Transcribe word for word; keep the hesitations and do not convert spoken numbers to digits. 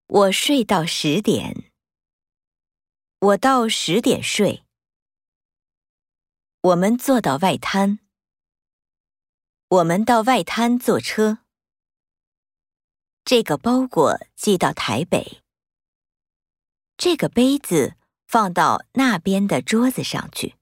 我睡到十点。我到十点睡。我们坐到外滩。我们到外滩坐车。这个包裹寄到台北。这个杯子放到那边的桌子上去。